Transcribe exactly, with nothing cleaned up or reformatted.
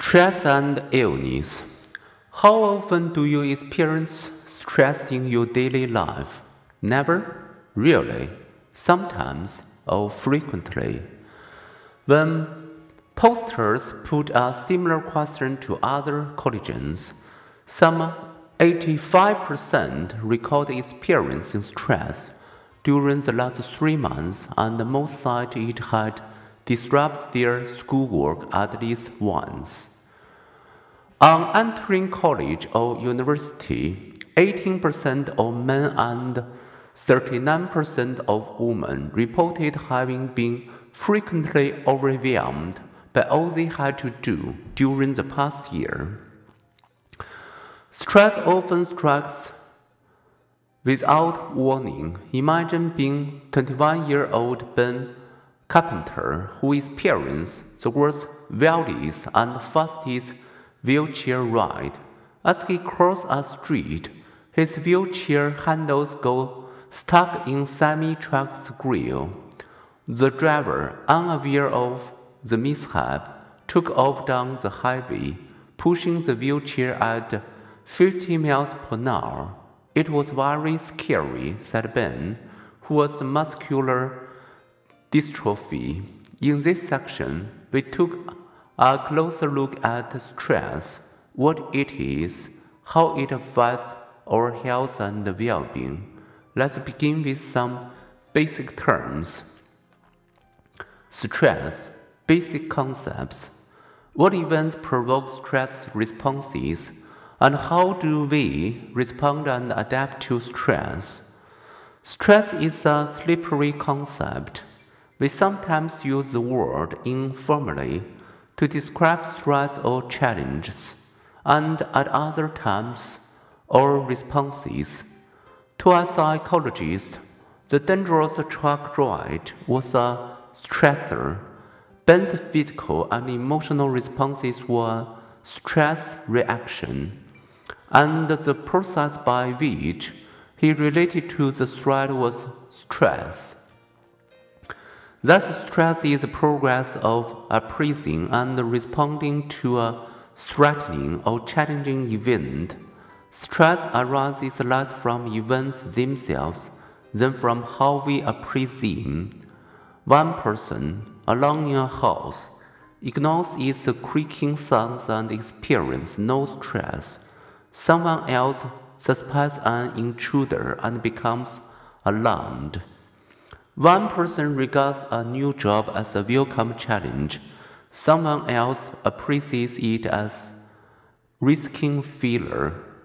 Stress and illness. How often do you experience stress in your daily life? Never? Really? Sometimes or frequently? When posters put a similar question to other colleges, some eighty-five percent recorded experiencing stress during the last three months, and most cited it had disrupted their schoolwork at least once. On entering college or university, eighteen percent of men and thirty-nine percent of women reported having been frequently overwhelmed by all they had to do during the past year. Stress often strikes without warning. Imagine being twenty-one-year-old Ben Carpenter, who experienced the world's wildest and fastest wheelchair ride. As he crossed a street, his wheelchair handles got stuck in semi-truck's grill. The driver, unaware of the mishap, took off down the highway, pushing the wheelchair at fifty miles per hour. It was very scary, said Ben, who has muscular dystrophy. In this section, we took a closer look at stress, what it is, how it affects our health and well-being. Let's begin with some basic terms. Stress, basic concepts. What events provoke stress responses, and how do we respond and adapt to stress? Stress is a slippery concept. We sometimes use the word informally to describe stress or challenges, and at other times, or responses. To a psychologist, the dangerous truck ride was a stressor. Ben's physical and emotional responses were stress reaction, and the process by which he related to the threat was stress. Thus, stress is the progress of appraising and responding to a threatening or challenging event. Stress arises less from events themselves than from how we appraise them. One person, alone in a house, ignores its creaking sounds and experiences no stress. Someone else suspects an intruder and becomes alarmed. One person regards a new job as a welcome challenge. Someone else appreciates it as risking failure.